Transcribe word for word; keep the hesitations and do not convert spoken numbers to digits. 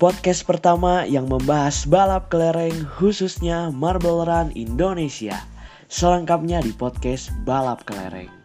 podcast pertama yang membahas balap kelereng khususnya Marble Run Indonesia. Selengkapnya di podcast Balap Kelereng.